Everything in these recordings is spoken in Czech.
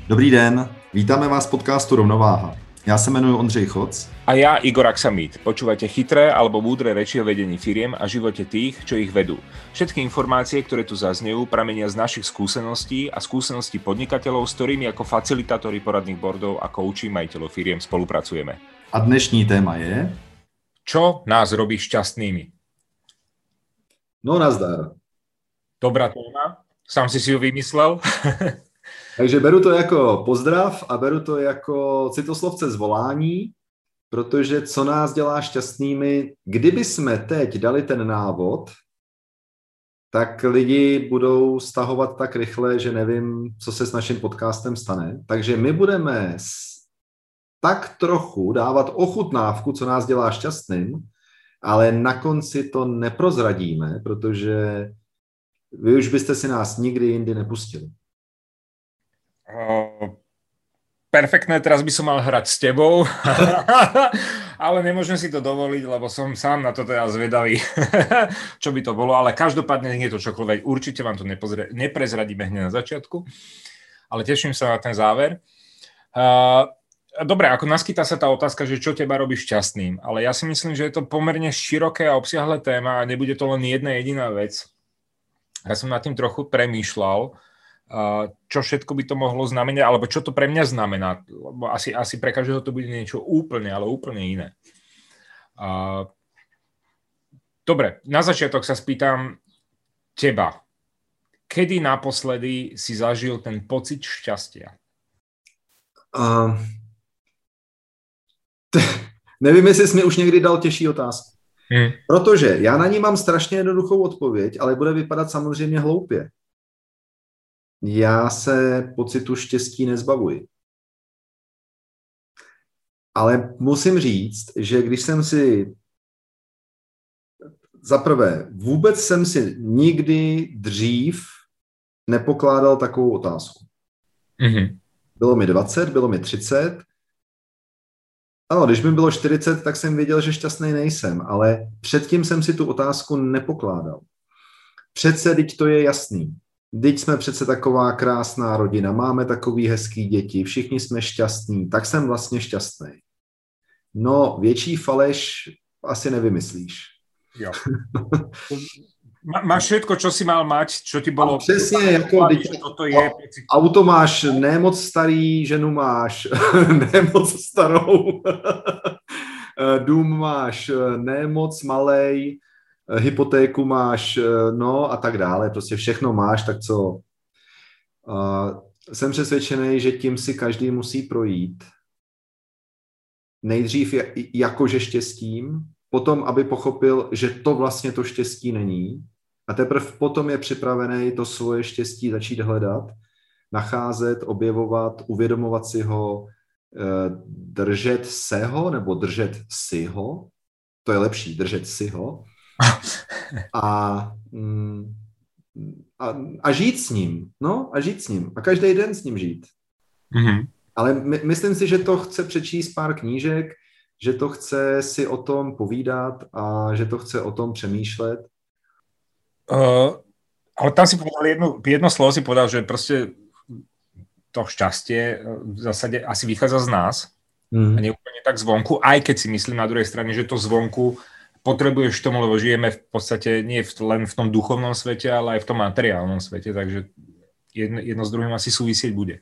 Dobrý den, vítáme vás v podcastu Rovnováha. Ja sa jmenuji Ondřej Choc. A ja Igor Aksamit. Počúvate chytré alebo múdre reči o vedení firiem a živote tých, čo ich vedú. Všetky informácie, ktoré tu zaznejú, pramenia z našich skúseností a skúseností podnikateľov, s ktorými ako facilitátori poradných boardov a kouči majiteľov firiem spolupracujeme. A dnešní téma je... Čo nás robí šťastnými? No nazdar. Dobrá téma. Sám si ju vymyslel. Takže beru to jako pozdrav a beru to jako citoslovce zvolání, protože co nás dělá šťastnými, kdyby jsme teď dali ten návod, tak lidi budou stahovat tak rychle, že nevím, co se s naším podcastem stane. Takže my budeme tak trochu dávat ochutnávku, co nás dělá šťastným, ale na konci to neprozradíme, protože vy už byste si nás nikdy jindy nepustili. Perfektné, teraz by som mal hrať s tebou, ale nemôžem si to dovoliť, lebo som sám na to teda zvedavý, čo by to bolo, ale každopádne nie je to čokoľvek, určite vám to neprezradíme hneď na začiatku, ale teším sa na ten záver. Dobre, ako naskytá sa tá otázka, že čo teba robí šťastným, ale ja si myslím, že je to pomerne široké a obsiahle téma a nebude to len jedna jediná vec. Ja som nad tým trochu premýšľal, čo všetko by to mohlo znamenať, alebo čo to pre mňa znamená. Lebo asi pre každého to bude niečo úplne, ale úplne iné. Dobre, na začiatok sa spýtam teba. Kedy naposledy si zažil ten pocit šťastia? Nevím, jestli jsi mi už někdy dal těžší otázku. Protože já na ní mám strašně jednoduchou odpověď, ale bude vypadat samozřejmě hloupě. Já se pocitu štěstí nezbavuji. Ale musím říct, že když jsem si... Zaprvé, vůbec jsem si nikdy dřív nepokládal takovou otázku. Mm-hmm. Bylo mi 20, bylo mi 30. Ano, když mi bylo 40, tak jsem věděl, že šťastný nejsem, ale předtím jsem si tu otázku nepokládal. Přece, teď to je jasný. Teď jsme přece taková krásná rodina, máme takový hezký děti, všichni jsme šťastní, tak jsem vlastně šťastný. No, větší faleš asi nevymyslíš. Jo. Máš všetko, čo si mal mať, čo ti bolo... Přesně, jako toto je... Auto máš nemoc starý, ženu máš nemoc starou, dům máš nemoc malej, hypotéku máš, no a tak dále, prostě všechno máš, tak co? Jsem přesvědčený, že tím si každý musí projít. Nejdřív jakože štěstím, potom, aby pochopil, že to vlastně to štěstí není a teprve potom je připravený to svoje štěstí začít hledat, nacházet, objevovat, uvědomovat si ho, držet se ho nebo držet si ho, to je lepší, držet si ho, a žít s ním, no a žít s ním a každý den s ním žít. Mm-hmm. Ale myslím si, že to chce přečíst pár knížek, že to chce si o tom povídat a že to chce o tom přemýšlet. Ale tam si povedal jedno slovo si povedal, že proste to šťastie v zásade asi vychádza z nás a nie úplne tak zvonku, aj keď si myslím na druhej strane, že to zvonku potrebuješ k tomu, lebo žijeme v podstate nie len v tom duchovnom svete, ale aj v tom materiálnom svete, takže jedno s druhým asi súvisieť bude.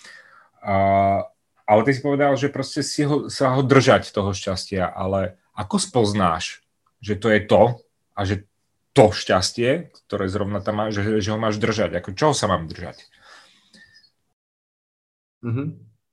Ale ty si povedal, že proste sa ho držať toho šťastia, ale ako spoznáš, že to je to a že to šťastie, ktoré zrovna tam máš, že ho máš držať? Ako čoho sa mám držať? Mm-hmm.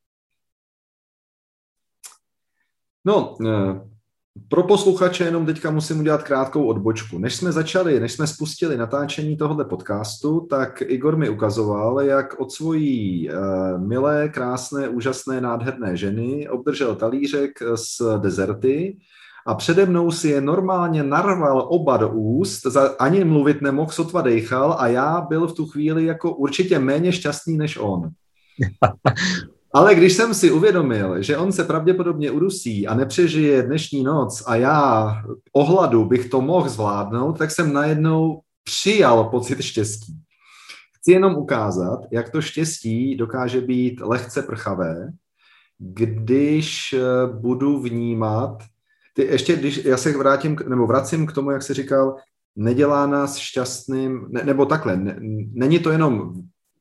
No, pro posluchače jenom teďka musím udělat krátkou odbočku. Než jsme spustili natáčení tohoto podcastu, tak Igor mi ukazoval, jak od svojí milé, krásné, úžasné, nádherné ženy obdržel talířek s dezerty a přede mnou si je normálně narval oba do úst, ani mluvit nemohl, sotva dejchal a já byl v tu chvíli jako určitě méně šťastný než on. Ale když jsem si uvědomil, že on se pravděpodobně udusí a nepřežije dnešní noc a já o hladu bych to mohl zvládnout, tak jsem najednou přijal pocit štěstí, Chci jenom ukázat, jak to štěstí dokáže být lehce prchavé, když budu vnímat, já se vracím k tomu, jak jsi říkal, nedělá nás šťastným, nebo takhle, není to jenom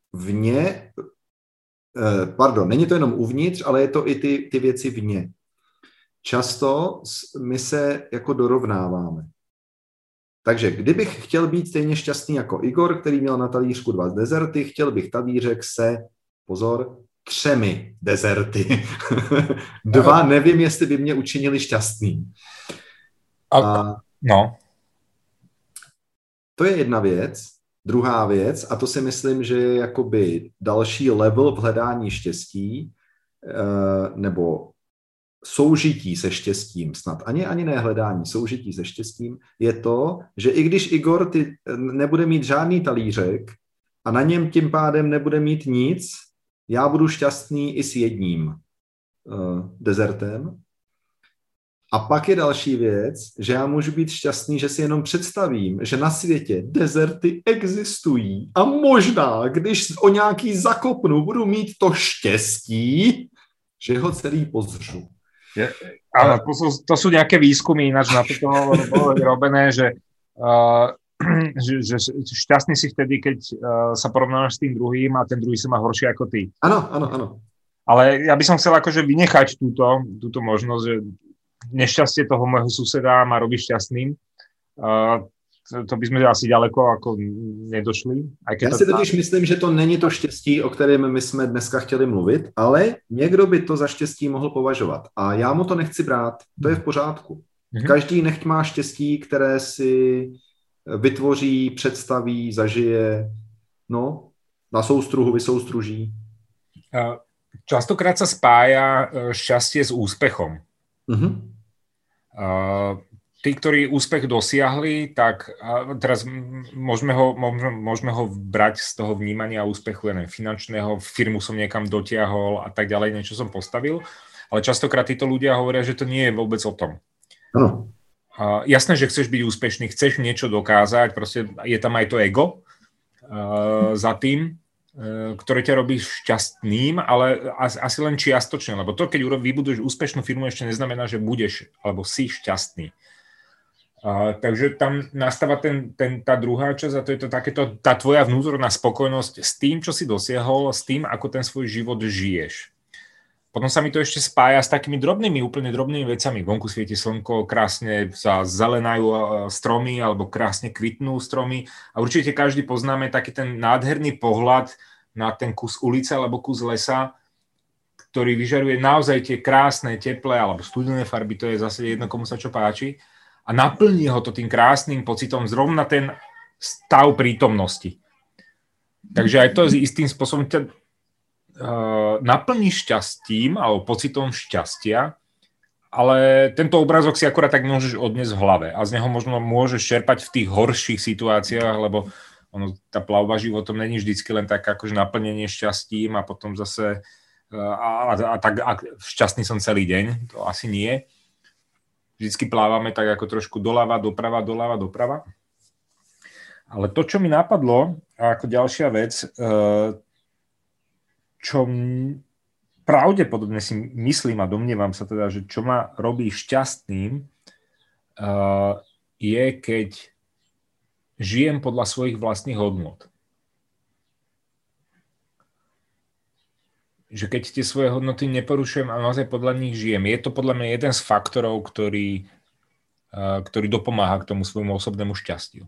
není to jenom uvnitř, ale je to i ty věci vně. Často my se jako dorovnáváme. Takže kdybych chtěl být stejně šťastný jako Igor, který měl na talířku 2 dezerty, chtěl bych talířek se, pozor, 3 dezerty. 2, nevím, jestli by mě učinili šťastný. No. To je jedna věc. Druhá věc, a to si myslím, že je jakoby další level v hledání štěstí, nebo soužití se štěstím, snad ani ne hledání, soužití se štěstím, je to, že i když Igor nebude mít žádný talířek a na něm tím pádem nebude mít nic, já budu šťastný i s jedním dezertem. A pak je další věc, že já můžu být šťastný, že si jenom představím, že na světě dezerty existují a možná, když o nějaký zakopnu, budu mít to štěstí, že ho celý pozřu. Áno, to sú nejaké výskumy ináč na toto bolo robené, že šťastný si vtedy, keď sa porovnáš s tým druhým a ten druhý sa má horšie ako ty. Áno. Ale ja by som chcel akože vynechať túto možnosť, že nešťastie toho môjho suseda ma robí šťastným. To by sme asi ďaleko ako nedošli. Já si totiž myslím, že to není to štěstí, o kterém my jsme dneska chtěli mluvit, ale někdo by to za štěstí mohl považovat. A já mu to nechci brát, to je v pořádku. Každý nechť má štěstí, které si vytvoří, představí, zažije, no, na soustruhu vysoustruží. Častokrát sa spája šťastie s úspechom. Tí, ktorí úspech dosiahli, tak teraz môžeme ho brať z toho vnímania úspechu, ja neviem, finančného, firmu som niekam dotiahol a tak ďalej, niečo som postavil, ale častokrát títo ľudia hovoria, že to nie je vôbec o tom. Jasné, že chceš byť úspešný, chceš niečo dokázať, proste je tam aj to ego za tým, ktoré ťa robí šťastným, ale asi len čiastočne, lebo to, keď vybuduješ úspešnú firmu, ešte neznamená, že budeš, alebo si šťastný. Takže tam nastáva tá druhá časť a to je to takéto, tá tvoja vnútorná spokojnosť s tým, čo si dosiahol, s tým, ako ten svoj život žiješ. Potom sa mi to ešte spája s takými úplne drobnými vecami. Vonku svieti slnko, krásne sa zelenajú stromy alebo krásne kvitnú stromy a určite každý poznáme taký ten nádherný pohľad na ten kus ulice alebo kus lesa, ktorý vyžaruje naozaj tie krásne, teplé alebo studené farby, to je zase jedno, komu sa čo páči. A naplní ho to tým krásnym pocitom zrovna ten stav prítomnosti. Takže aj to istým spôsobom ťa naplní šťastím alebo pocitom šťastia, ale tento obrázok si akorát tak môžeš odniesť v hlave a z neho možno môžeš čerpať v tých horších situáciách, lebo tá plavba životom není vždycky len tak akože naplnenie šťastím a potom zase šťastný som celý deň, to asi nie. Vždycky plávame tak ako trošku doľava, doprava. Ale to, čo mi napadlo, ako ďalšia vec, čo pravdepodobne si myslím a domnievam sa teda, že čo ma robí šťastným, je, keď žijem podľa svojich vlastných hodnôt. Že keď tie svoje hodnoty neporušujem a naozaj podľa nich žijem. Je to podľa mňa jeden z faktorov, ktorý dopomáha k tomu svojmu osobnému šťastiu.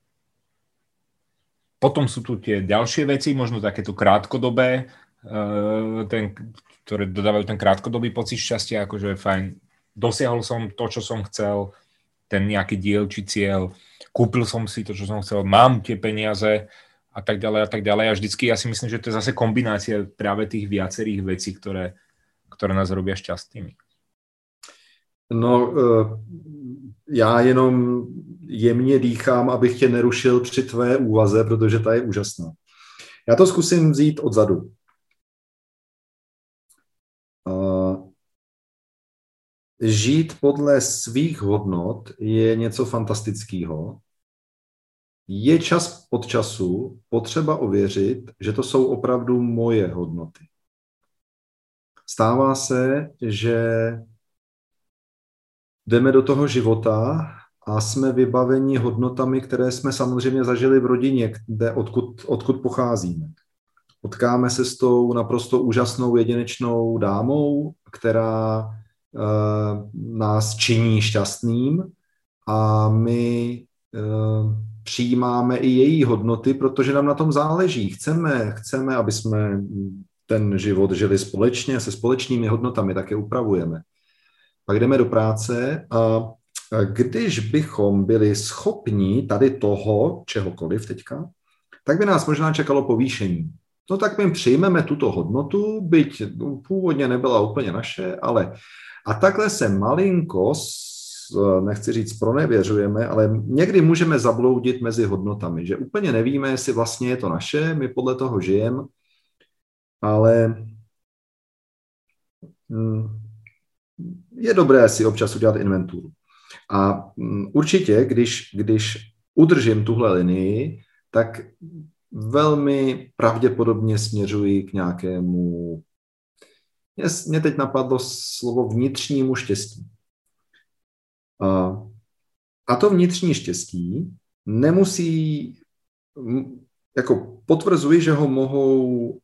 Potom sú tu tie ďalšie veci, možno takéto krátkodobé, ktoré dodávajú ten krátkodobý pocit šťastia, akože fajn, dosiahol som to, čo som chcel, ten nejaký diel či cieľ, kúpil som si to, čo som chcel, mám tie peniaze, a tak ďalej. A vždycky ja si myslím, že to je zase kombinácia práve tých viacerých vecí, ktoré nás robia šťastnými. No, já jenom jemně dýchám, abych tě nerušil při tvé úvaze, protože ta je úžasná. Já to zkusím vzít odzadu. Žít podle svých hodnot je něco fantastického. je čas od času potřeba ověřit, že to jsou opravdu moje hodnoty. Stává se, že jdeme do toho života a jsme vybaveni hodnotami, které jsme samozřejmě zažili v rodině, odkud pocházíme. Potkáme se s tou naprosto úžasnou jedinečnou dámou, která nás činí šťastným a my přijímáme i její hodnoty, protože nám na tom záleží. Chceme, aby jsme ten život žili společně, se společnými hodnotami, tak je upravujeme. Pak jdeme do práce a když bychom byli schopni tady toho, čehokoliv teďka, tak by nás možná čekalo povýšení. No tak my přijmeme tuto hodnotu, byť původně nebyla úplně naše, ale a takhle se malinko, nechci říct pronevěřujeme, ale někdy můžeme zabloudit mezi hodnotami, že úplně nevíme, jestli vlastně je to naše, my podle toho žijeme, ale je dobré si občas udělat inventuru. A určitě, když udržím tuhle linii, tak velmi pravděpodobně směřuji k nějakému, mě teď napadlo slovo vnitřnímu štěstí. A to vnitřní štěstí nemusí, jako potvrzuji, že ho mohou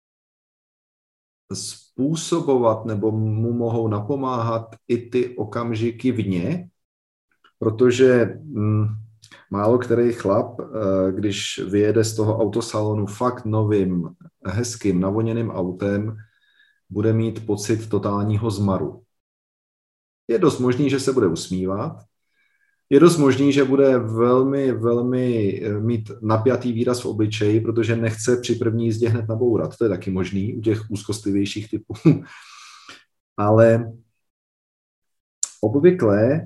způsobovat nebo mu mohou napomáhat i ty okamžiky vně, protože málo který chlap, když vyjede z toho autosalonu fakt novým, hezkým, navoněným autem, bude mít pocit totálního zmaru. Je dost možný, že se bude usmívat, je dost možný, že bude velmi, velmi mít napjatý výraz v obličeji, protože nechce při první jízdě hned nabourat. To je taky možný u těch úzkostlivějších typů. Ale obvykle,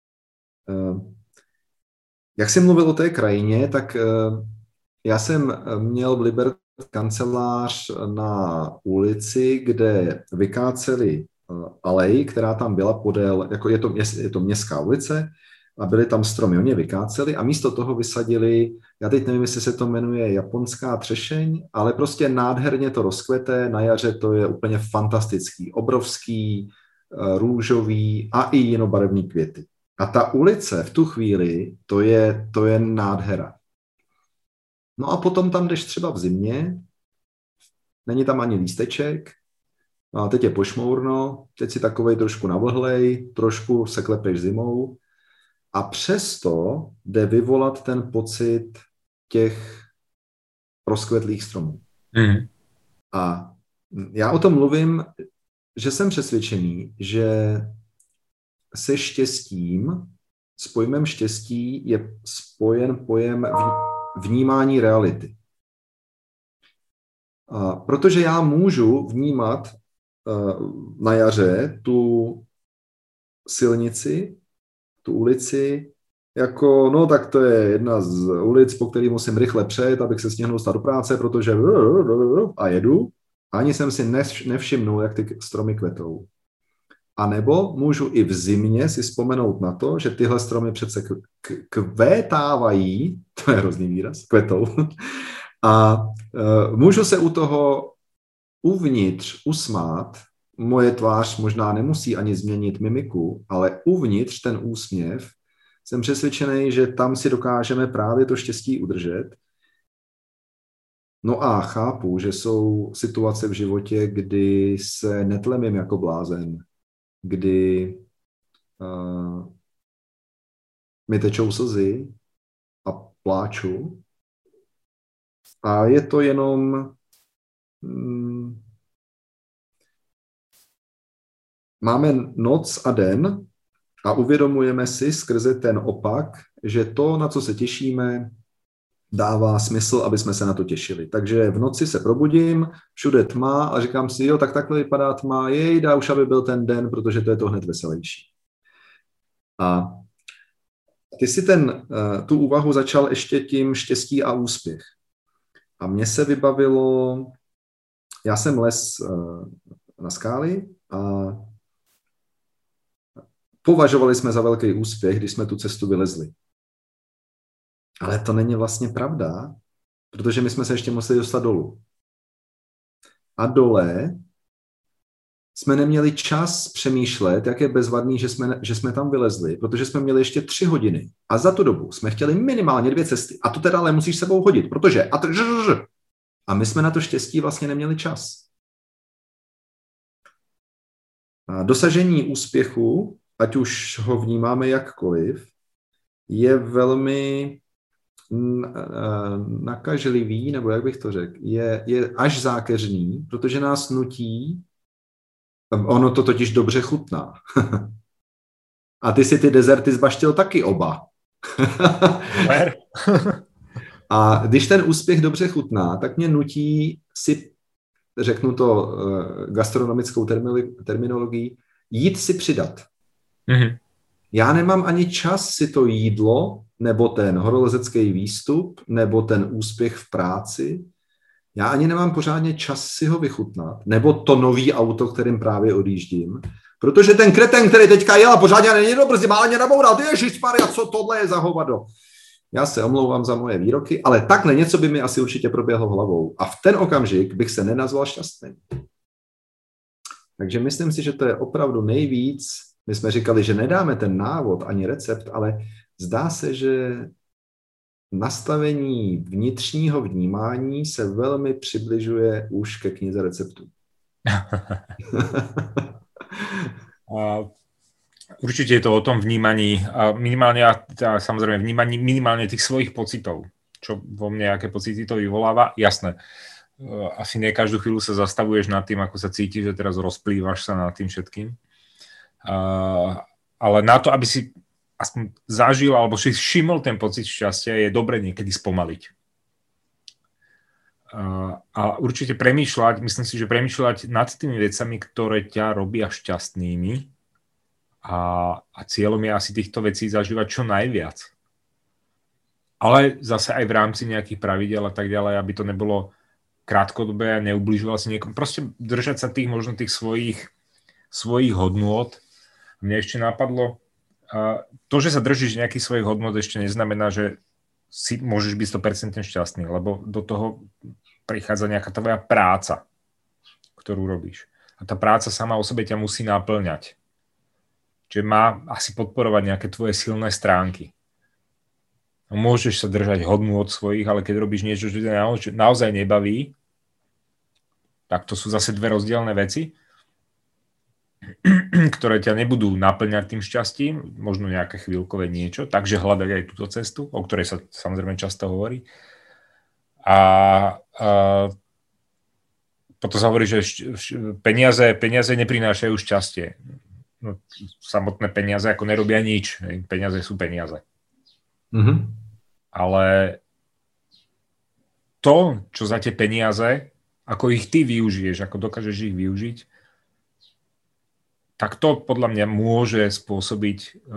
jak jsem mluvil o té krajině, tak já jsem měl v Liberci kancelář na ulici, kde vykáceli alej, která tam byla podél, jako je to městská ulice, a byly tam stromy, oni je vykáceli a místo toho vysadili, já teď nevím, jestli se to jmenuje japonská třešeň, ale prostě nádherně to rozkvete, na jaře to je úplně fantastický, obrovský, růžový a i jinobarevný květy. A ta ulice v tu chvíli, to je nádhera. No a potom tam jdeš třeba v zimě, není tam ani lísteček, a teď je pošmourno, teď si takovej trošku navlhlej, trošku se klepeš zimou a přesto jde vyvolat ten pocit těch rozkvetlých stromů. Mm. A já o tom mluvím, že jsem přesvědčený, že se štěstím, s pojmem štěstí je spojen pojem vnímání reality. Protože já můžu vnímat na jaře tu silnici, tu ulici, jako, no tak to je jedna z ulic, po který musím rychle přejet, abych se stihnul dostat do práce, protože a jedu. Ani jsem si nevšimnul, jak ty stromy kvetou. A nebo můžu i v zimě si vzpomenout na to, že tyhle stromy přece kvétávají, to je hrozný výraz, kvetou, a můžu se u toho uvnitř usmát, moje tvář možná nemusí ani změnit mimiku, ale uvnitř ten úsměv, jsem přesvědčený, že tam si dokážeme právě to štěstí udržet. No a chápu, že jsou situace v životě, kdy se netlemím jako blázen, kdy mi tečou slzy a pláču. A je to jenom máme noc a den a uvědomujeme si skrze ten opak, že to, na co se těšíme, dává smysl, aby jsme se na to těšili. Takže v noci se probudím, všude tma a říkám si, jo, tak takhle vypadá tma, jejda, už aby byl ten den, protože to je to hned veselější. A ty si tu úvahu začal ještě tím štěstí a úspěch. A mně se vybavilo, já jsem les na skály a považovali jsme za velký úspěch, když jsme tu cestu vylezli. Ale to není vlastně pravda, protože my jsme se ještě museli dostat dolů. A dole jsme neměli čas přemýšlet, jak je bezvadný, že jsme tam vylezli, protože jsme měli ještě 3 hodiny. A za tu dobu jsme chtěli minimálně 2 cesty. A to teda ale musíš sebou hodit, protože... A my jsme na to štěstí vlastně neměli čas. A dosažení úspěchu, ať už ho vnímáme jakkoliv, je velmi nakažlivý, nebo jak bych to řekl, je až zákeřný, protože nás nutí, ono to totiž dobře chutná. A ty si ty dezerty zbaštil taky oba. A když ten úspěch dobře chutná, tak mě nutí si, řeknu to gastronomickou terminologií, jít si přidat. Mm-hmm. Já nemám ani čas si to jídlo, nebo ten horolezecký výstup, nebo ten úspěch v práci, já ani nemám pořádně čas si ho vychutnat, nebo to nový auto, kterým právě odjíždím, protože ten kreten, který teďka jel a pořádně není dobrý, má ani naboural, ježišmarja, co tohle je za hovado. Já se omlouvám za moje výroky, ale takhle něco by mi asi určitě proběhlo hlavou. A v ten okamžik bych se nenazval šťastným. Takže myslím si, že to je opravdu nejvíc. My jsme říkali, že nedáme ten návod ani recept, ale zdá se, že nastavení vnitřního vnímání se velmi přibližuje už ke knize receptů. Určite je to o tom vnímaní, minimálne, samozrejme vnímaní minimálne tých svojich pocitov, čo vo mne, aké pocity to vyvoláva, jasné. Asi nie každú chvíľu sa zastavuješ nad tým, ako sa cítiš, že teraz rozplývaš sa nad tým všetkým. Ale na to, aby si aspoň zažil alebo si všimol ten pocit šťastia, je dobre niekedy spomaliť. A určite premýšľať, myslím si, že premýšľať nad tými vecami, ktoré ťa robia šťastnými, a cieľom je asi týchto vecí zažívať čo najviac. Ale zase aj v rámci nejakých pravidel a tak ďalej, aby to nebolo krátkodobé a neubližoval si niekomu. Proste držať sa tých možno tých svojich hodnôt. Mne ešte napadlo, to, že sa držíš nejakých svojich hodnôt, ešte neznamená, že si môžeš byť 100% šťastný, lebo do toho prichádza nejaká tvoja práca, ktorú robíš. A tá práca sama o sebe ťa musí naplňať. Čiže má asi podporovať nejaké tvoje silné stránky. No, môžeš sa držať hodnú od svojich, ale keď robíš niečo, čo ťa naozaj nebaví, tak to sú zase dve rozdielne veci, ktoré ťa nebudú naplňať tým šťastím, možno nejaké chvíľkové niečo, takže hľadať aj túto cestu, o ktorej sa samozrejme často hovorí. A potom sa hovorí, že peniaze neprinášajú šťastie. No, samotné peniaze ako nerobia nič. Peniaze sú peniaze. Mm-hmm. Ale to, čo za tie peniaze, ako ich ty využiješ, ako dokážeš ich využiť, tak to podľa mňa môže spôsobiť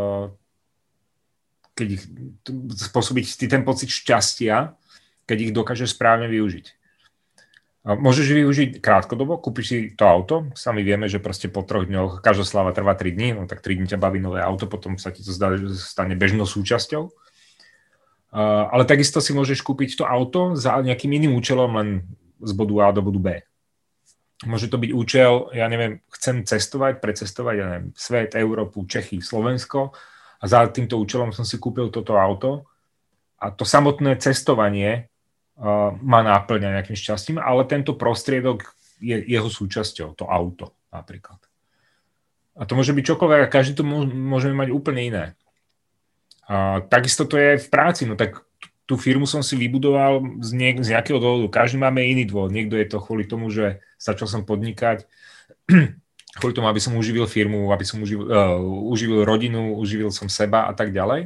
spôsobiť ten pocit šťastia, keď ich dokážeš správne využiť. Môžeš využiť krátkodobo, kúpiš si to auto, sami vieme, že proste po 3 dňoch každá sláva trvá 3 dní, no tak 3 dní ťa baví nové auto, potom sa ti to stane bežnou súčasťou. Ale takisto si môžeš kúpiť to auto za nejakým iným účelom, len z bodu A do bodu B. Môže to byť účel, ja neviem, chcem cestovať, precestovať, ja neviem, svet, Európu, Čechy, Slovensko a za týmto účelom som si kúpil toto auto a to samotné cestovanie má náplňa nejakým šťastím, ale tento prostriedok je jeho súčasťou, to auto napríklad. A to môže byť čokoľvek a každý to môžeme mať úplne iné. Takisto to je v práci, no tak tú firmu som si vybudoval z nejakého dôvodu. Každý máme iný dôvod. Niekto je to kvôli tomu, že začal som podnikať, kvôli tomu, aby som uživil firmu, aby som uživil rodinu, uživil som seba a tak ďalej.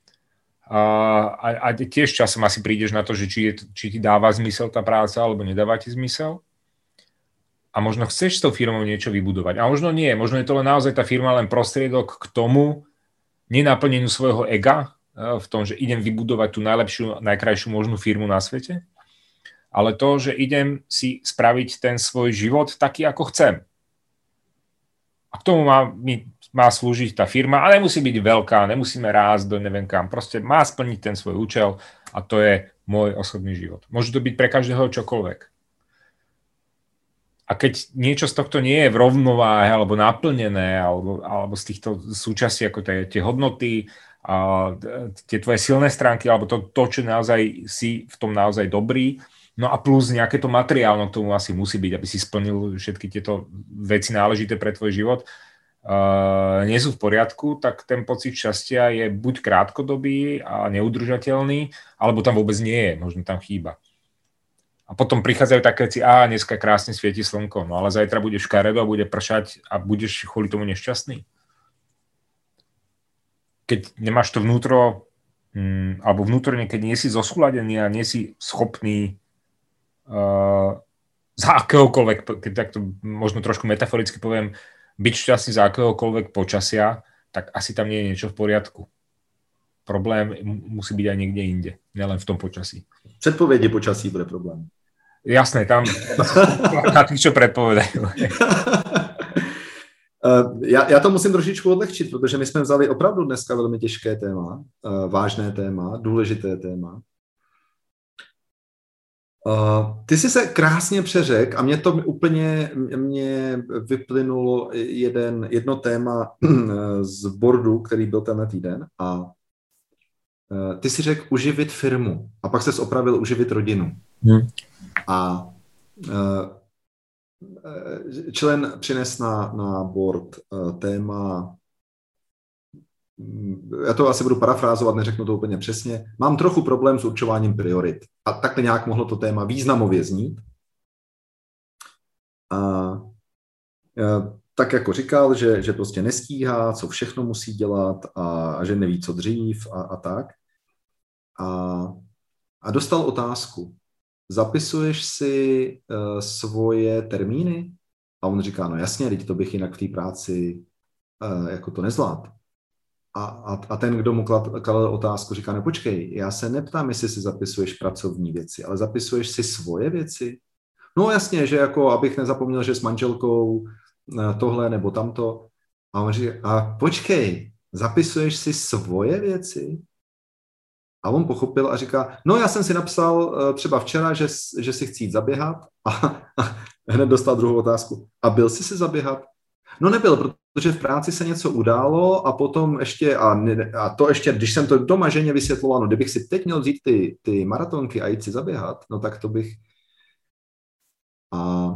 A tiež časom asi prídeš na to, že či ti dáva zmysel tá práca, alebo nedáva ti zmysel. A možno chceš s tou firmou niečo vybudovať. A možno nie. Možno je to len naozaj tá firma len prostriedok k tomu nenaplneniu svojho ega, v tom, že idem vybudovať tú najlepšiu, najkrajšiu možnú firmu na svete, ale to, že idem si spraviť ten svoj život taký, ako chcem. A k tomu mi má slúžiť tá firma a nemusí byť veľká, nemusíme rásť do neviem kam. Proste má splniť ten svoj účel a to je môj osobný život. Môže to byť pre každého čokoľvek. A keď niečo z tohto nie je v rovnováhe alebo naplnené, alebo z týchto súčastí, ako tie hodnoty, a tie tvoje silné stránky, alebo to, čo naozaj si v tom naozaj dobrý, no a plus nejaké to materiálno k tomu asi musí byť, aby si splnil všetky tieto veci náležité pre tvoj život, nie sú v poriadku, tak ten pocit šťastia je buď krátkodobý a neudržateľný, alebo tam vôbec nie je, možno tam chýba. A potom prichádzajú také veci, dneska krásne svieti slnko, no ale zajtra bude škaredo a bude pršať a budeš kvôli tomu nešťastný. Keď nemáš to vnútro, alebo vnútorne, keď nie si zosúladený a nie si schopný za akéhokoľvek, keď takto možno trošku metaforicky poviem, byť šťastný za akéhokoľvek počasia, tak asi tam nie je niečo v poriadku. Problém musí byť aj niekde inde, nielen v tom počasí. Předpovědi počasí bude problém. Jasné, tam na tých, čo predpovedajú. Já to musím trošičku odlehčit, protože my jsme vzali opravdu dneska velmi těžké téma, vážné téma, důležité téma. Ty jsi se krásně přeřekl a mě vyplynulo jedno téma z boardu, který byl tenhle týden a ty si řekl uživit firmu a pak ses opravil uživit rodinu. A člen přines na board téma, já to asi budu parafrázovat, neřeknu to úplně přesně, mám trochu problém s určováním priorit. A takhle nějak mohlo to téma významově znít. A tak jako říkal, že prostě nestíhá, co všechno musí dělat a že neví, co dřív a tak. A dostal otázku. Zapisuješ si svoje termíny? A on říká, no jasně, teď to bych jinak v té práci jako to nezvládl. A ten, kdo mu kladl otázku, říká, no počkej, já se neptám, jestli si zapisuješ pracovní věci, ale zapisuješ si svoje věci? No jasně, že jako, abych nezapomněl, že s manželkou tohle nebo tamto. A on říká, a počkej, zapisuješ si svoje věci? A on pochopil a říká, no já jsem si napsal třeba včera, že si chci jít zaběhat a hned dostal druhou otázku. A byl jsi si zaběhat? No nebyl, protože v práci se něco událo a potom ještě, a to ještě, když jsem to doma ženě vysvětloval, no kdybych si teď měl vzít ty maratonky a jít si zaběhat, no tak to bych... A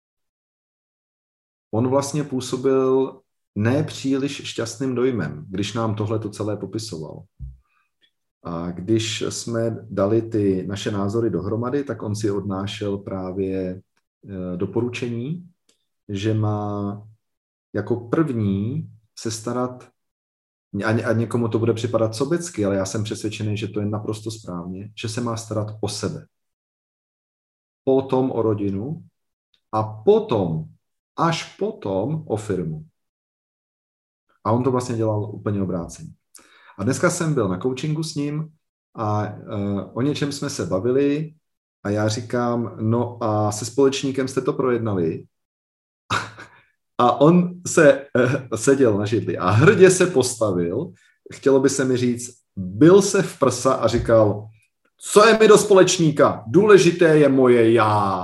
on vlastně působil nepříliš šťastným dojmem, když nám tohle to celé popisoval. A když jsme dali ty naše názory dohromady, tak on si odnášel právě doporučení, že má jako první se starat, a někomu to bude připadat sobecky, ale já jsem přesvědčený, že to je naprosto správně, že se má starat o sebe. Potom o rodinu a potom, až potom o firmu. A on to vlastně dělal úplně obráceně. A dneska jsem byl na coachingu s ním a o něčem jsme se bavili a já říkám, no a se společníkem jste to projednali? A on se seděl na židli a hrdě se postavil, chtělo by se mi říct, bil se v prsa a říkal, co je mi do společníka, důležité je moje já.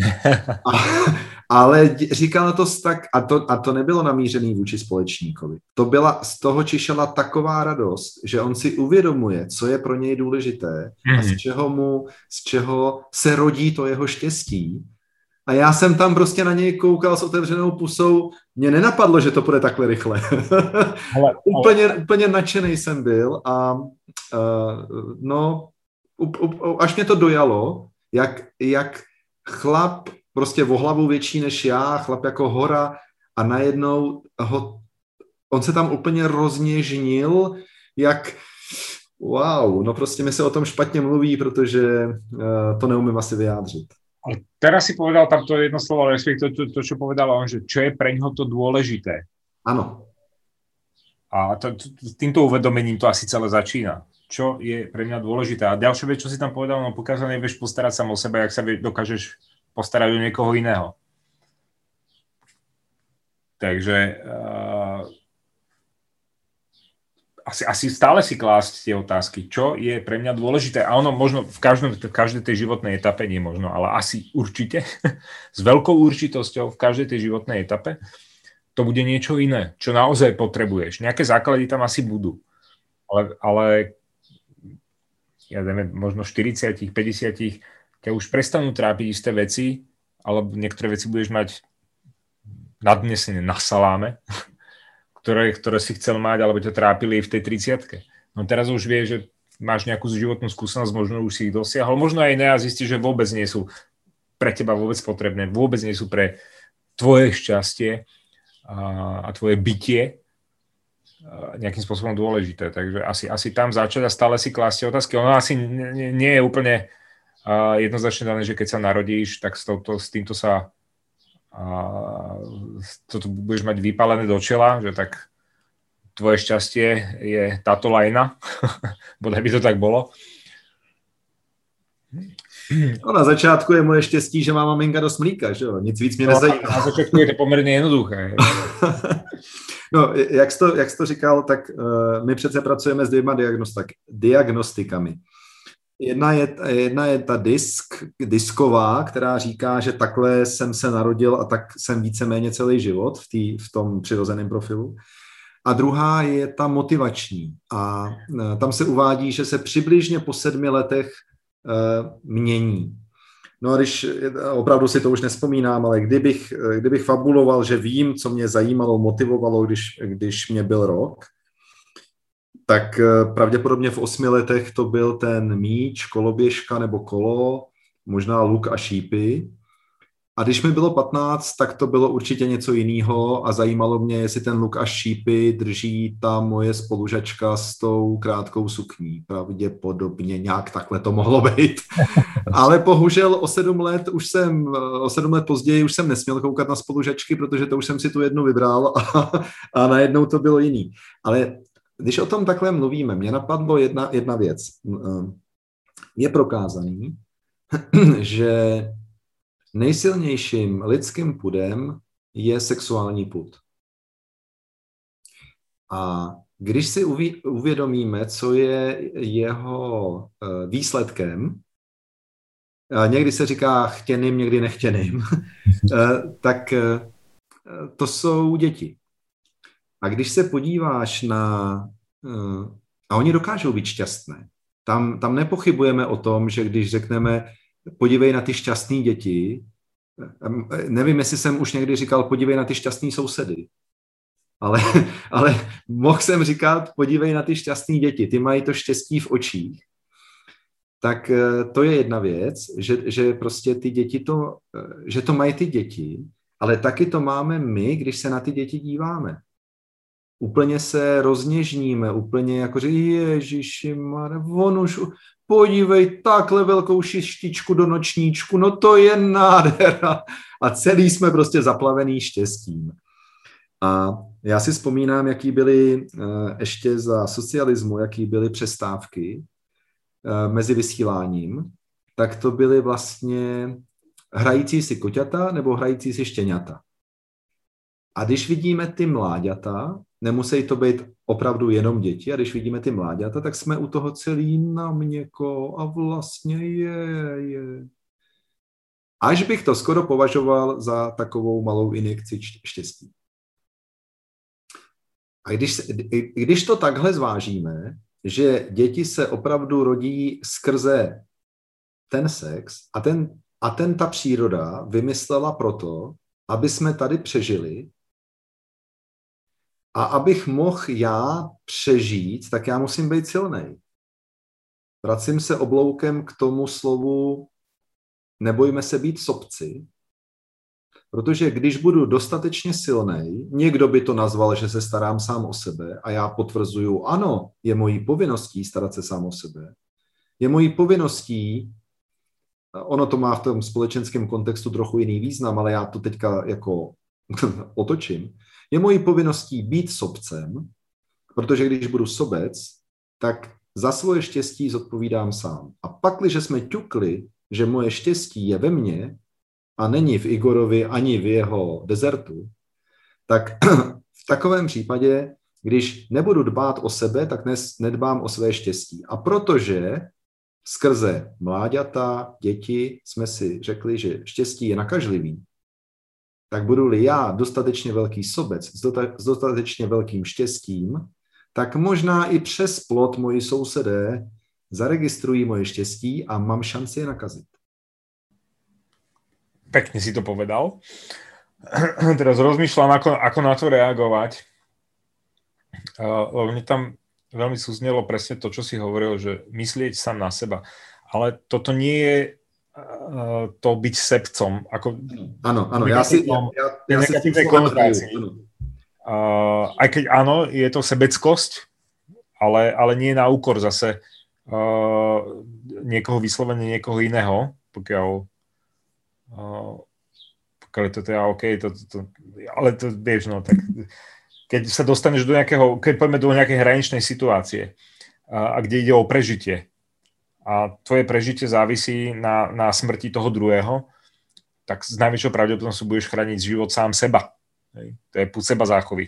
Ale říkal to tak, a to nebylo namířený vůči společníkovi. To byla, z toho čišela taková radost, že on si uvědomuje, co je pro něj důležité a z čeho se rodí to jeho štěstí. A já jsem tam prostě na něj koukal s otevřenou pusou, mě nenapadlo, že to půjde takhle rychle. Úplně nadšený jsem byl a až mě to dojalo, jak chlap prostě o hlavu větší než já, chlap jako hora a najednou on se tam úplně rozněžnil, jak wow, no prostě mi se o tom špatně mluví, protože to neumím asi vyjádřit. Ale teraz si povedal tam to jedno slovo, respektíve to, čo povedal on, že čo je pre ňoho to dôležité. Áno. A týmto uvedomením to asi celé začína. Čo je pre mňa dôležité. A ďalšia vec, čo si tam povedal, no pokiaľ sa nevieš postarať sám o seba, jak sa dokážeš postarať o niekoho iného. Takže asi stále si klásť tie otázky, čo je pre mňa dôležité. A ono možno v každej tej životnej etape, nie možno, ale asi určite, s veľkou určitosťou v každej tej životnej etape, to bude niečo iné, čo naozaj potrebuješ. Nejaké základy tam asi budú. Ale ja dajme možno 40, 50, ťa už prestanú trápiť isté veci, alebo niektoré veci budeš mať nadnesené na saláme, ktoré si chcel mať, alebo ťa trápili v tej 30-ke. No teraz už vieš, že máš nejakú životnú skúsenosť, možno už si ich dosiahol, možno aj ne a zistíš, že vôbec nie sú pre teba vôbec potrebné, vôbec nie sú pre tvoje šťastie a tvoje bytie nejakým spôsobom dôležité. Takže asi tam začať a stále si klásť otázky. Ono asi nie je úplne jednoznačne dané, že keď sa narodíš, tak s týmto sa toto budeš mať vypálené do čela, že tak tvoje šťastie je táto lajna. Bodaj by to tak bolo. No, na začátku je moje štěstí, že má maminka dost mlíka, že jo? Nic víc mě nezajímá. Na začátku je to poměrně jednoduché. No, jak jsi to říkal, tak my přece pracujeme s dvěma diagnostikami. Jedna je ta disková, která říká, že takhle jsem se narodil a tak jsem víceméně celý život v tom přirozeném profilu. A druhá je ta motivační. A tam se uvádí, že se přibližně po 7 letech mění. No a když, opravdu si to už nevzpomínám, ale kdybych fabuloval, že vím, co mě zajímalo, motivovalo, když mě byl rok, tak pravděpodobně v 8 letech to byl ten míč, koloběžka nebo kolo, možná luk a šípy. A když mi bylo 15, tak to bylo určitě něco jiného a zajímalo mě, jestli ten luk a šípy drží ta moje spolužačka s tou krátkou sukní. Pravděpodobně nějak takhle to mohlo být. Ale bohužel o 7 let později už jsem nesměl koukat na spolužačky, protože to už jsem si tu jednu vybral a najednou to bylo jiný. Ale když o tom takhle mluvíme, mě napadlo jedna věc. Je prokázaný, že nejsilnějším lidským pudem je sexuální pud. A když si uvědomíme, co je jeho výsledkem, někdy se říká chtěným, někdy nechtěným, tak to jsou děti. A když se podíváš a oni dokážou být šťastné. Tam nepochybujeme o tom, že když řekneme podívej na ty šťastný děti, nevím, jestli jsem už někdy říkal podívej na ty šťastný sousedy, ale mohl jsem říkat podívej na ty šťastný děti, ty mají to štěstí v očích. Tak to je jedna věc, že prostě ty děti že to mají ty děti, ale taky to máme my, když se na ty děti díváme. Úplně se rozněžníme, úplně jako, že ježišimare, on už, podívej, takhle velkou šištičku do nočníčku, no to je nádhera. A celý jsme prostě zaplavený štěstím. A já si vzpomínám, jaký byly ještě za socialismu, jaký byly přestávky mezi vysíláním, tak to byly vlastně hrající si koťata nebo hrající si štěňata. A když vidíme ty mláďata, nemusí to být opravdu jenom děti, a když vidíme ty mláďata, tak jsme u toho celý na měko a vlastně je. Až bych to skoro považoval za takovou malou injekci štěstí. A když to takhle zvážíme, že děti se opravdu rodí skrze ten sex a ta příroda vymyslela proto, aby jsme tady přežili, a abych mohl já přežít, tak já musím být silnej. Vracím se obloukem k tomu slovu nebojme se být sobci, protože když budu dostatečně silnej, někdo by to nazval, že se starám sám o sebe a já potvrzuju, ano, je mojí povinností starat se sám o sebe. Je mojí povinností, ono to má v tom společenském kontextu trochu jiný význam, ale já to teďka jako otočím. Je mojí povinností být sobcem, protože když budu sobec, tak za svoje štěstí zodpovídám sám. A pakliže jsme ťukli, že moje štěstí je ve mně a není v Igorovi ani v jeho dezertu, tak v takovém případě Když nebudu dbát o sebe, tak nedbám o své štěstí. A protože skrze mláďata, děti jsme si řekli, že štěstí je nakažlivý, tak budu-li já dostatečně velký sobec s dostatečně velkým štěstím, tak možná i přes plot moji sousedé zaregistrují moje štěstí a mám šanci je nakazit. Pekne si to povedal. Teraz rozmýšľam, ako na to reagovať. Lebo mne tam veľmi súznelo presne to, čo si hovoril, že myslieť sám na seba. Ale toto nie je to byť sebcom. Áno, ja si negatívnej konotácii. Aj keď áno, je to sebeckosť, ale nie na úkor zase niekoho vyslovene, niekoho iného, pokiaľ je to teda OK, ale to vieš, no tak keď sa dostaneš do nejakého, keď poďme do nejakej hraničnej situácie a kde ide o prežitie a tvoje prežitie závisí na smrti toho druhého, tak s najväčšou pravdepodobnosťou budeš chrániť život sám seba. Hej. To je púd seba záchovy.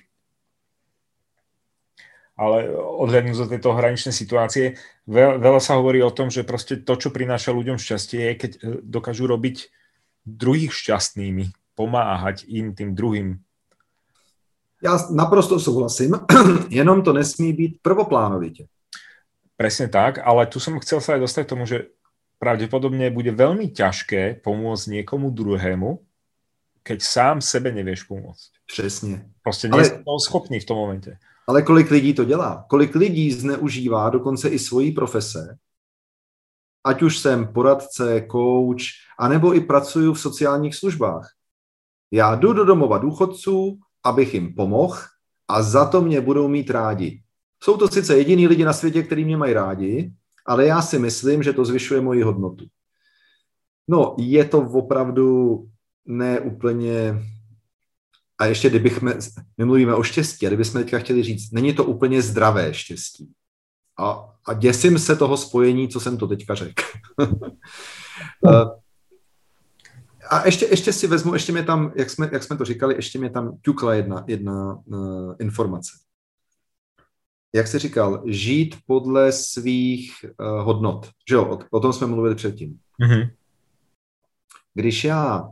Ale odhľadnúť do tejto hraničnej situácie, veľa sa hovorí o tom, že proste to, čo prináša ľuďom šťastie, je, keď dokážu robiť druhých šťastnými, pomáhať im, tým druhým. Já naprosto souhlasím, jenom to nesmí být prvoplánovitě. Presne tak, ale tu som chcel sa aj dostať k tomu, že pravdepodobne bude veľmi ťažké pomôcť niekomu druhému, keď sám sebe nevieš pomôcť. Přesně. Prostě nie si toho schopný v tom momente. Ale kolik lidí to dělá? Kolik lidí zneužívá dokonce i svojí profese? Ať už jsem poradce, coach, anebo i pracuju v sociálních službách. Já jdu do domova důchodců, abych jim pomohl a za to mě budou mít rádi. Jsou to sice jediný lidi na světě, kteří mě mají rádi, ale já si myslím, že to zvyšuje moji hodnotu. No, je to opravdu neúplně... A ještě my mluvíme o štěstí, a kdybychom teďka chtěli říct, není to úplně zdravé štěstí. A děsím se toho spojení, co jsem to teďka řekl. A ještě si vezmu, ještě mě tam, jak jsme to říkali, ještě mě tam ťukla jedna informace. Jak jsi říkal, žít podle svých hodnot. Že jo, o tom jsme mluvili předtím. Mm-hmm. Když já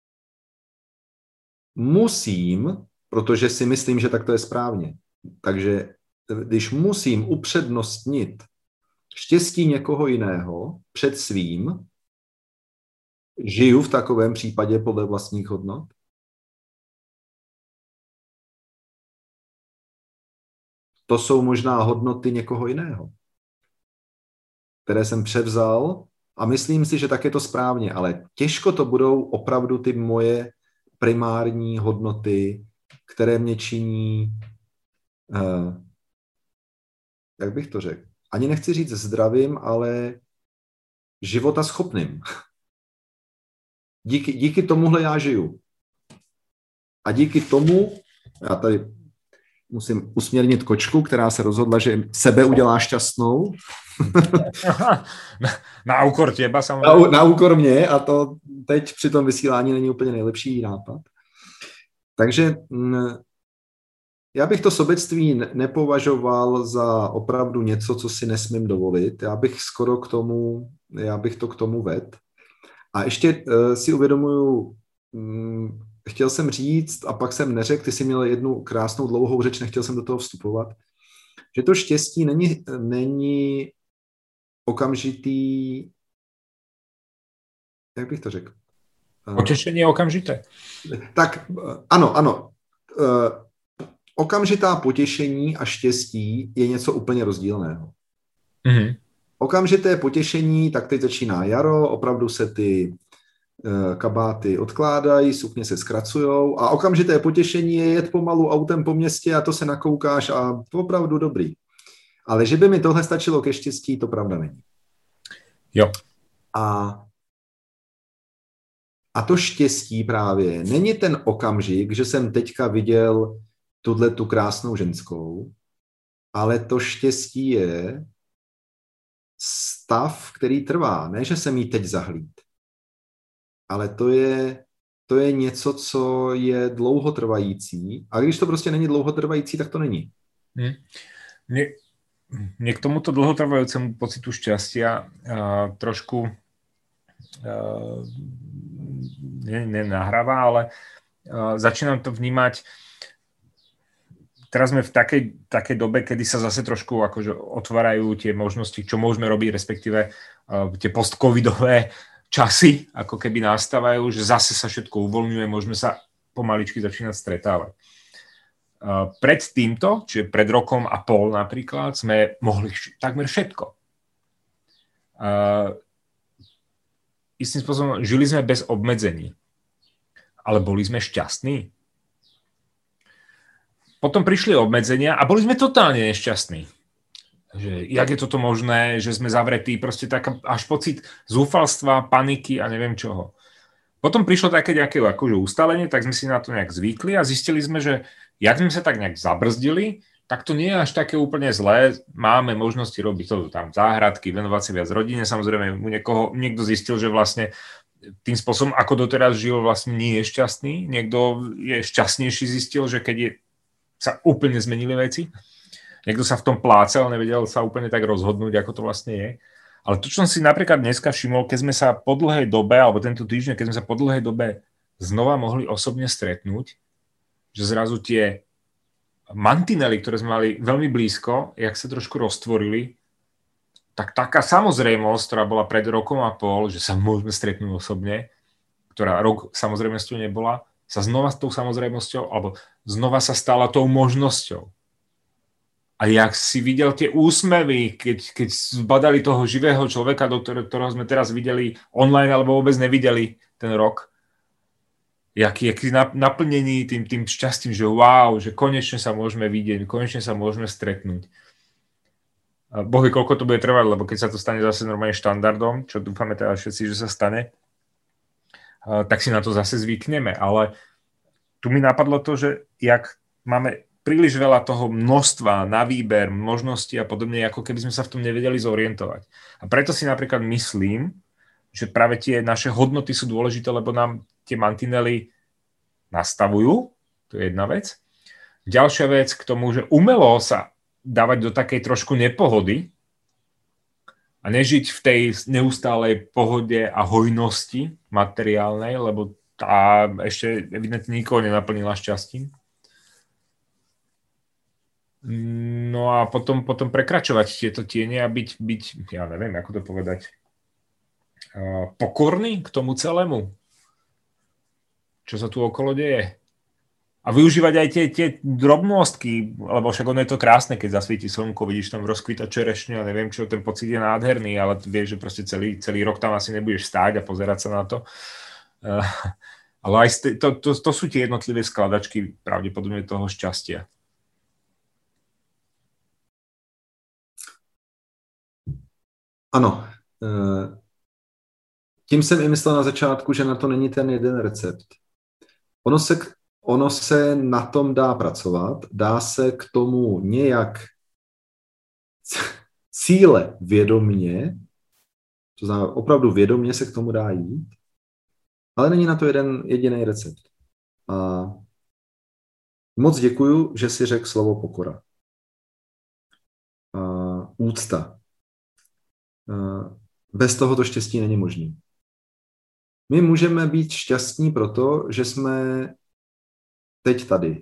musím, protože si myslím, že tak to je správně, takže když musím upřednostnit štěstí někoho jiného před svým, žiju v takovém případě podle vlastních hodnot? To jsou možná hodnoty někoho jiného, které jsem převzal a myslím si, že tak je to správně, ale těžko to budou opravdu ty moje primární hodnoty, které mě činí, jak bych to řekl, ani nechci říct zdravým, ale života schopným. Díky tomuhle já žiju. A díky tomu, já tady musím usměrnit kočku, která se rozhodla, že sebe udělá šťastnou. Na úkor těba samozřejmě. Na úkor mě a to teď při tom vysílání není úplně nejlepší nápad. Takže já bych to sobectví nepovažoval za opravdu něco, co si nesmím dovolit. Já bych to k tomu vedl. A ještě si uvědomuju, chtěl jsem říct a pak jsem neřekl, ty jsi měl jednu krásnou dlouhou řeč, nechtěl jsem do toho vstupovat, že to štěstí není okamžitý, jak bych to řekl? Potěšení je okamžité. Tak ano. Okamžitá potěšení a štěstí je něco úplně rozdílného. Mm-hmm. Okamžité potěšení, tak teď začíná jaro, opravdu se ty kabáty odkládají, sukně se zkracujou a okamžité potěšení je jet pomalu autem po městě a to se nakoukáš a opravdu dobrý. Ale že by mi tohle stačilo ke štěstí, to pravda není. Jo. A to štěstí právě není ten okamžik, že jsem teďka viděl tu krásnou ženskou, ale to štěstí je stav, který trvá. Ne, že jsem jí teď zahlíd, ale to je něco, co je dlouhotrvající. A když to prostě není dlouhotrvající, tak to není. Mne k tomuto dlhotrvajúcemu pocitu šťastia trošku nenahráva, ale začínam to vnímať. Teraz sme v takej dobe, kedy sa zase trošku akože otvárajú tie možnosti, čo môžeme robiť, respektíve tie post-covidové časy, ako keby nastávajú, že zase sa všetko uvoľňuje, môžeme sa pomaličky začínať stretávať. Pred týmto, čiže pred rokom a pol napríklad, sme mohli takmer všetko. Istým spôsobom žili sme bez obmedzení, ale boli sme šťastní. Potom prišli obmedzenia a boli sme totálne nešťastní. Že jak je toto možné, že sme zavretí, proste tak až pocit zúfalstva, paniky a neviem čoho. Potom prišlo také nejaké akože ustalenie, tak sme si na to nejak zvykli a zistili sme, že jak sme sa tak nejak zabrzdili, tak to nie je až také úplne zlé. Máme možnosti robiť to tam záhradky, venovať sa viac rodine. Samozrejme, niekto zistil, že vlastne tým spôsobom, ako doteraz žil, vlastne nie je šťastný. Niekto je šťastnejší, zistil, že keď sa úplne zmenili veci. Niekto sa v tom plácal, nevedel sa úplne tak rozhodnúť, ako to vlastne je. Ale to, čo som si napríklad dneska všimol, keď sme sa po dlhej dobe, alebo tento týždeň, keď sme sa po dlhej dobe znova mohli osobne stretnúť, že zrazu tie mantinely, ktoré sme mali veľmi blízko, jak sa trošku roztvorili, tak taká samozrejmosť, ktorá bola pred rokom a pol, že sa môžeme stretnúť osobne, ktorá rok samozrejme s tou nebola, sa znova s tou samozrejmosťou, alebo znova sa stala tou možnosťou. A jak si videl tie úsmevy, keď zbadali toho živého človeka, do ktorého sme teraz videli online, alebo vôbec nevideli ten rok, jaký naplnený tým šťastím, že wow, že konečne sa môžeme vidieť, konečne sa môžeme stretnúť. A Boh vie, koľko to bude trvať, lebo keď sa to stane zase normálne štandardom, čo dúfame teda všetci, že sa stane, tak si na to zase zvykneme. Ale tu mi napadlo to, že jak máme príliš veľa toho množstva na výber, možností a podobne, ako keby sme sa v tom nevedeli zorientovať. A preto si napríklad myslím, že práve tie naše hodnoty sú dôležité, lebo nám tie mantinely nastavujú, to je jedna vec. Ďalšia vec k tomu, že umelo sa dávať do takej trošku nepohody, a nežiť v tej neustálej pohode a hojnosti materiálnej, lebo tá ešte evidentne nikoho nenaplnila šťastím. No a potom prekračovať tieto tiene a byť, ja neviem, ako to povedať, pokorný k tomu celému, čo sa tu okolo deje. A využívať aj tie drobnostky, lebo však ono je to krásne, keď zasvieti slnko, vidíš tam rozkvítať čerešňu a neviem čo, ten pocit je nádherný, ale vieš, že proste celý rok tam asi nebudeš stáť a pozerať sa na to. Ale aj to sú tie jednotlivé skladačky pravdepodobne toho šťastia. Ano. Tím jsem i myslel na začátku, že na to není ten jeden recept. Ono se na tom dá pracovat, dá se k tomu nějak cíle vědomně, to znamená opravdu vědomně se k tomu dá jít, ale není na to jeden jediný recept. A moc děkuju, že si řekl slovo pokora. A úcta. Bez toho to štěstí není možný. My můžeme být šťastní proto, že jsme teď tady.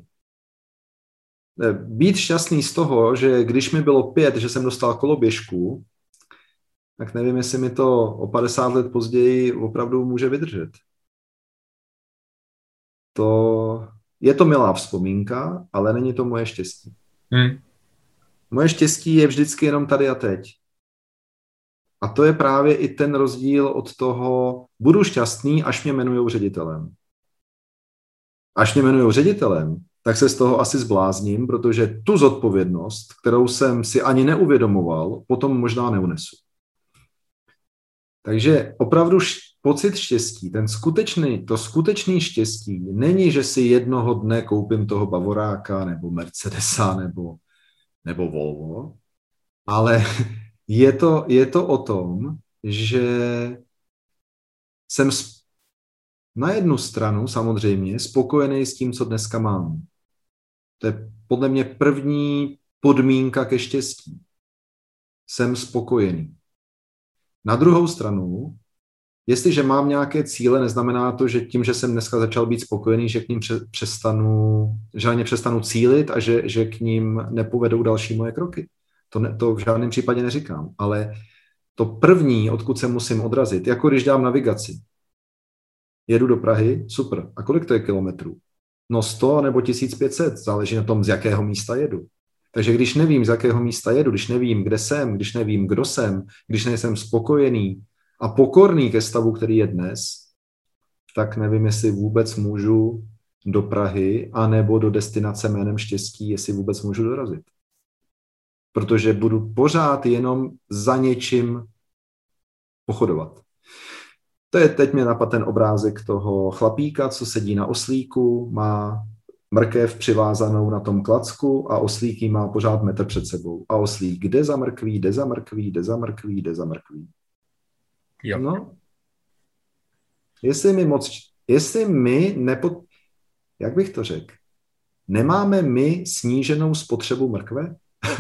Být šťastný z toho, že když mi bylo 5, že jsem dostal koloběžku, tak nevím, jestli mi to o 50 let později opravdu může vydržet. Je to milá vzpomínka, ale není to moje štěstí. Moje štěstí je vždycky jenom tady a teď. A to je právě i ten rozdíl od toho, budu šťastný, až mě jmenujou ředitelem. Až mě jmenujou ředitelem, tak se z toho asi zblázním, protože tu zodpovědnost, kterou jsem si ani neuvědomoval, potom možná neunesu. Takže opravdu pocit štěstí, to skutečné štěstí není, že si jednoho dne koupím toho Bavoráka nebo Mercedesa nebo Volvo, ale je to o tom, že jsem na jednu stranu samozřejmě spokojený s tím, co dneska mám. To je podle mě první podmínka ke štěstí. Jsem spokojený. Na druhou stranu, jestliže mám nějaké cíle, neznamená to, že tím, že jsem dneska začal být spokojený, že k ním přestanu cílit a že k ním nepovedou další moje kroky. To v žádném případě neříkám, ale to první, odkud se musím odrazit, jako když dám navigaci. Jedu do Prahy, super. A kolik to je kilometrů? No 100 nebo 1500, záleží na tom, z jakého místa jedu. Takže když nevím, z jakého místa jedu, když nevím, kde jsem, když nevím, kdo jsem, když nejsem spokojený a pokorný ke stavu, který je dnes, tak nevím, jestli vůbec můžu do Prahy anebo do destinace jménem štěstí, jestli vůbec můžu dorazit. Protože budu pořád jenom za něčím pochodovat. To je, teď mě napadl ten obrázek toho chlapíka, co sedí na oslíku, má mrkev přivázanou na tom klacku a oslík jí má pořád metr před sebou. A oslík jde za mrkví, jde za mrkví, jde za mrkví, jde za mrkví. Jo. No. Jak bych to řekl? Nemáme my sníženou spotřebu mrkve?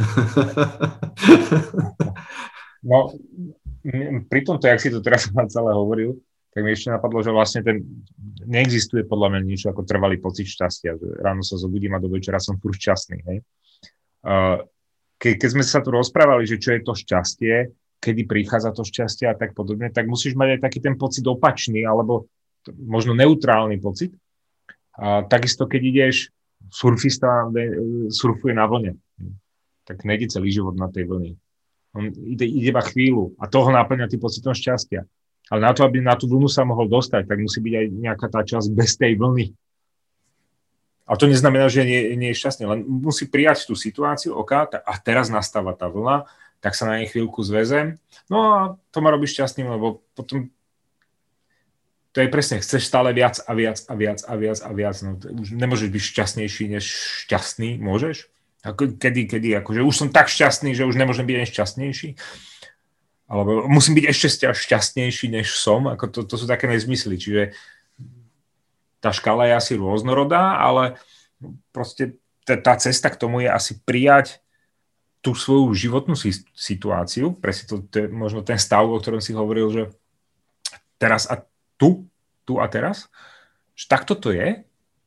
No, pri tomto, jak si to teraz celé hovoril, tak mi ešte napadlo, že vlastne neexistuje podľa mňa niečo ako trvalý pocit šťastia. Že ráno sa zobudím a do večera som furt šťastný. Hej? Keď sme sa tu rozprávali, že čo je to šťastie, kedy prichádza to šťastie a tak podobne, tak musíš mať aj taký ten pocit opačný, alebo možno neutrálny pocit. Takisto, keď ideš, surfista surfuje na vlne, tak nejde celý život na tej vlne. On ide iba chvíľu a toho náplňa tým pocitom šťastia. Ale na to, aby na tú vlnu sa mohol dostať, tak musí byť aj nejaká tá časť bez tej vlny. A to neznamená, že nie je šťastný, len musí prijať tú situáciu, a teraz nastáva tá vlna, tak sa na nej chvíľku zväzem. No a to ma robí šťastným, lebo potom to je presne, chceš stále viac a viac a viac a viac a viac. No, už nemôžeš byť šťastnejší než šťastný, môžeš? Kedy, akože už som tak šťastný, že už nemôžem byť ani šťastnejší? Alebo musím byť ešte šťastnejší, než som? Ako to sú také nezmysly. Čiže tá škála je asi rôznorodá, ale proste tá cesta k tomu je asi prijať tú svoju životnú situáciu, presne to je možno ten stav, o ktorom si hovoril, že teraz a tu a teraz, že takto to je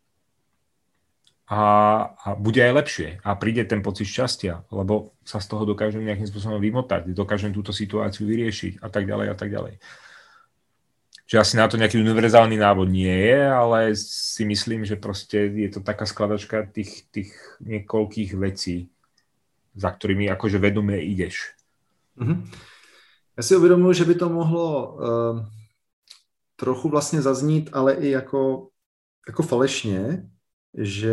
a bude aj lepšie a príde ten pocit šťastia, lebo sa z toho dokážem nejakým spôsobom vymotať, dokážem túto situáciu vyriešiť a tak ďalej a tak ďalej. Čiže asi na to nejaký univerzálny návod nie je, ale si myslím, že proste je to taká skladačka tých niekoľkých vecí, za ktorými akože vedomé ideš. Já si uvědomuji, že by to mohlo trochu vlastně zaznít, ale i jako falešně, že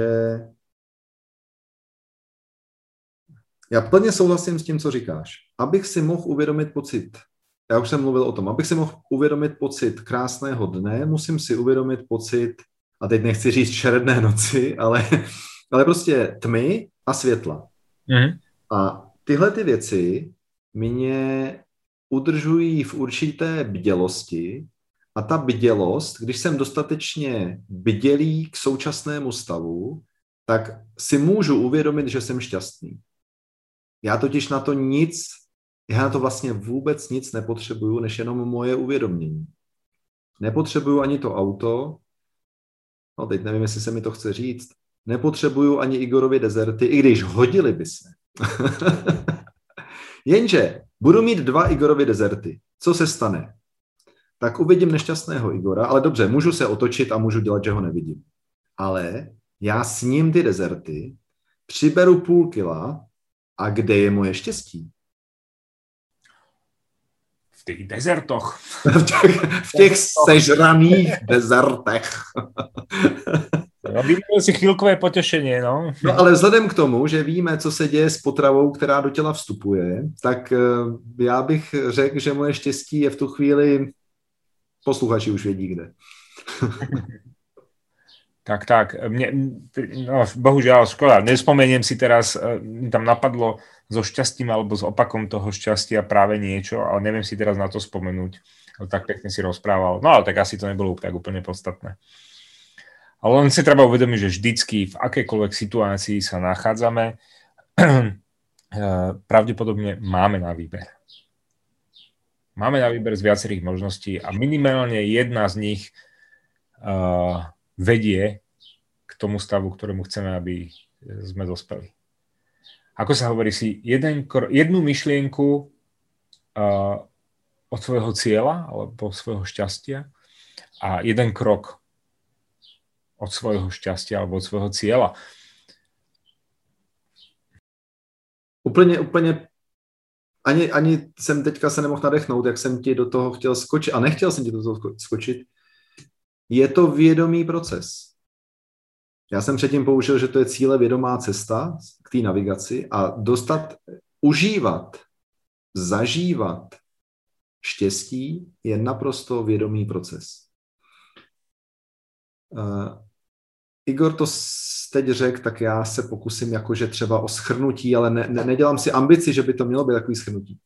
já plně souhlasím s tím, co říkáš. Abych si mohl uvědomit pocit, já už jsem mluvil o tom, abych si mohl uvědomit pocit krásného dne, musím si uvědomit pocit, a teď nechci říct šeredné noci, ale prostě tmy a světla. A tyhle ty věci mě udržují v určité bdělosti a ta bdělost, když jsem dostatečně bdělý k současnému stavu, tak si můžu uvědomit, že jsem šťastný. Já totiž na to vlastně vůbec nic nepotřebuju, než jenom moje uvědomění. Nepotřebuju ani to auto, no teď nevím, jestli se mi to chce říct, nepotřebuju ani Igorovy dezerty, i když hodili by se. Jenže budu mít 2 Igorovy dezerty. Co se stane? Tak uvidím nešťastného Igora, ale dobře, můžu se otočit a můžu dělat, že ho nevidím. Ale já sním ty dezerty, přiberu 0,5 kila a kde je moje štěstí? V těch dezertoch. v těch sežraných dezertech. Vyměnil si chvílkové potěšení, no. No ale vzhledem k tomu, že víme, co se děje s potravou, která do těla vstupuje, tak já bych řekl, že moje štěstí je v tu chvíli, posluchači už vědí kde. Tak. No, bohužiaľ, škoda. Nespomeniem si teraz, tam napadlo so šťastím alebo s opakom toho šťastia práve niečo, ale neviem si teraz na to spomenúť. Tak pekne si rozprával. No ale tak asi to nebolo tak úplne podstatné. Ale len si treba uvedomiť, že vždycky v akejkoľvek situácii sa nachádzame, pravdepodobne máme na výber. Máme na výber z viacerých možností a minimálne jedna z nich vedie k tomu stavu, ktorému chceme, aby sme dospeli. Ako sa hovorí, si jednu myšlienku od svojho cieľa alebo svojho šťastia a jeden krok od svojho šťastia alebo od svojho cieľa. Úplně ani jsem teďka se nemohl nadechnout, jak jsem ti do toho chtěl skočit a nechtěl jsem ti do toho skočit. Je to vědomý proces. Já jsem předtím použil, že to je cíle vědomá cesta k té navigaci a užívat, zažívat štěstí je naprosto vědomý proces. Igor to teď řekl, tak já se pokusím jakože třeba o shrnutí, ale nedělám si ambici, že by to mělo být takový shrnutí.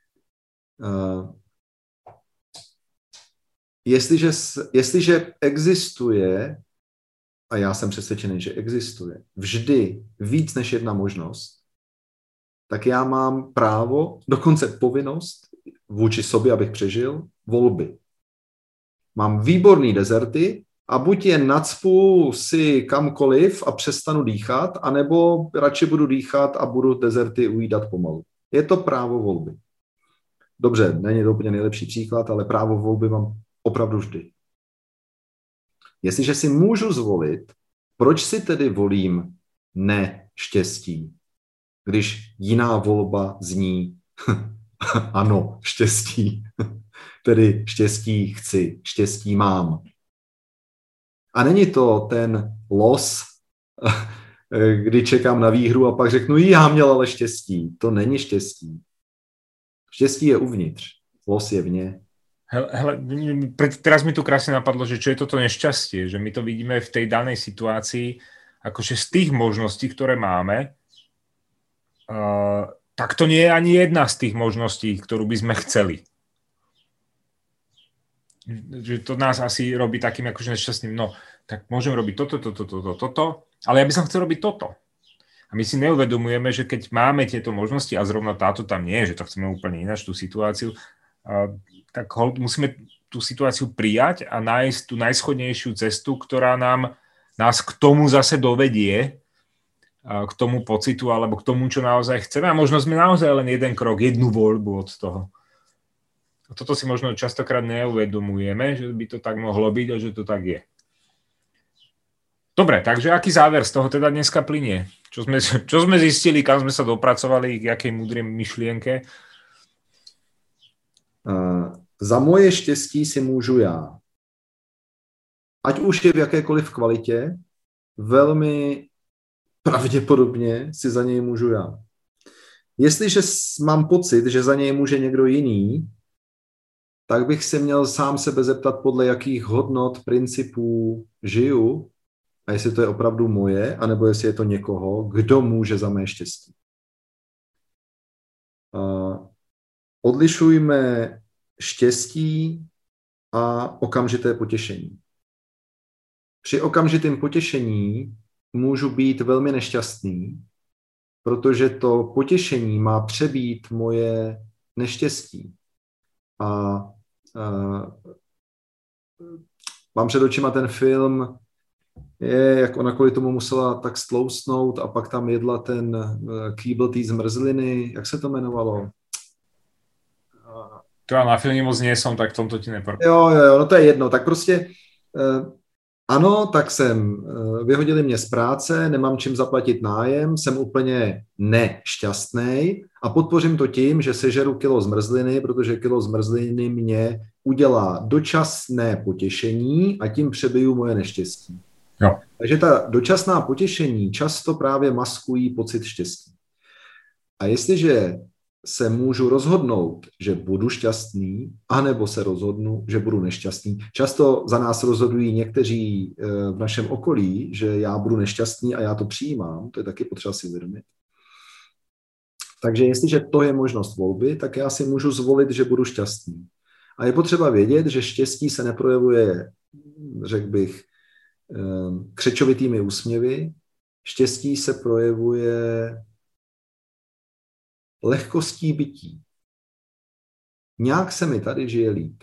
Jestliže existuje, a já jsem přesvědčený, že existuje vždy víc než jedna možnost, tak já mám právo, dokonce povinnost vůči sobě, abych přežil, volby. Mám výborný dezerty a buď je nacpu si kamkoliv a přestanu dýchat, anebo radši budu dýchat a budu dezerty ujídat pomalu. Je to právo volby. Dobře, není to úplně nejlepší příklad, ale právo volby mám opravdu vždy. Jestliže si můžu zvolit, proč si tedy volím neštěstí, když jiná volba zní ano, štěstí, tedy štěstí chci, štěstí mám. A není to ten los, kdy čekám na výhru a pak řeknu, já měl ale štěstí. To není štěstí. Štěstí je uvnitř, los je vně. Hele, teraz mi tu krásne napadlo, že čo je toto nešťastie, že my to vidíme v tej danej situácii, akože z tých možností, ktoré máme, tak to nie je ani jedna z tých možností, ktorú by sme chceli. Že to nás asi robí takým akože nešťastným, no, tak môžem robiť toto, ale ja by som chcel robiť toto. A my si neuvedomujeme, že keď máme tieto možnosti a zrovna táto tam nie, že to chceme úplne ináč, tú situáciu, tak musíme tú situáciu prijať a nájsť tú najschodnejšiu cestu, ktorá nás k tomu zase dovedie, k tomu pocitu alebo k tomu, čo naozaj chceme. A možno sme naozaj len jeden krok, jednu voľbu od toho. A toto si možno častokrát neuvedomujeme, že by to tak mohlo byť a že to tak je. Dobre, takže aký záver z toho teda dneska plynie? Čo sme zistili, kam sme sa dopracovali, k jakej múdrej myšlienke? Za moje štěstí si můžu já. Ať už je v jakékoliv kvalitě, velmi pravděpodobně si za něj můžu já. Jestliže mám pocit, že za něj může někdo jiný, tak bych se měl sám sebe zeptat, podle jakých hodnot, principů žiju a jestli to je opravdu moje, anebo jestli je to někoho, kdo může za mé štěstí. Odlišujme štěstí a okamžité potěšení. Při okamžitém potěšení můžu být velmi nešťastný, protože to potěšení má přebít moje neštěstí. A mám před očima ten film, jak ona kvůli tomu musela tak stloustnout a pak tam jedla ten kýbl té zmrzliny, jak se to jmenovalo? To já na filmě moc nie som, tak v tomto ti neprv. Jo, no to je jedno. Tak prostě ano, tak vyhodili mě z práce, nemám čím zaplatit nájem, jsem úplně nešťastnej a podpořím to tím, že sežeru kilo zmrzliny, protože kilo zmrzliny mě udělá dočasné potěšení a tím přebiju moje neštěstí. Jo. Takže ta dočasná potěšení často právě maskují pocit štěstí. A jestliže se můžu rozhodnout, že budu šťastný, anebo se rozhodnu, že budu nešťastný. Často za nás rozhodují někteří v našem okolí, že já budu nešťastný a já to přijímám, to je taky potřeba si uvědomit. Takže jestliže to je možnost volby, tak já si můžu zvolit, že budu šťastný. A je potřeba vědět, že štěstí se neprojevuje, řekl bych, křečovitými úsměvy. Štěstí se projevuje lehkostí bytí. Nějak se mi tady žije líp.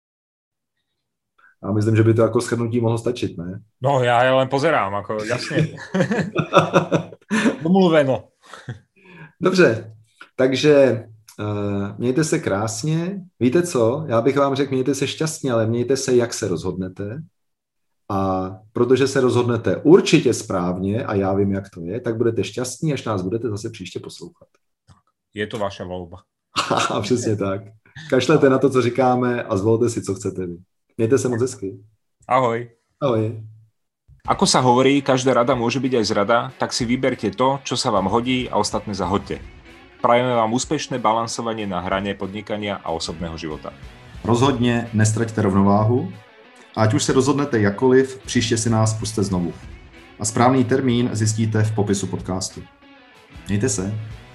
A myslím, že by to jako shrnutí mohlo stačit, ne? No, já len pozerám, jako jasně. Domluveno. Dobře, takže mějte se krásně. Víte co? Já bych vám řekl, mějte se šťastně, ale mějte se, jak se rozhodnete. A protože se rozhodnete určitě správně, a já vím, jak to je, tak budete šťastní, až nás budete zase příště poslouchat. Je to vaša volba. Přesně tak. Kašlete na to, co říkáme a zvolte si, co chcete vy. Mějte se moc hezky. Ahoj. Ahoj. Ako sa hovorí, každá rada môže byť aj zrada, tak si vyberte to, čo sa vám hodí a ostatné zahoďte. Prajeme vám úspešné balansovanie na hrane podnikania a osobného života. Rozhodně nestraťte rovnováhu. A ať už se rozhodnete jakkoliv, příště si nás pusťte znovu. A správný termín zjistíte v popisu podcastu. Mějte se.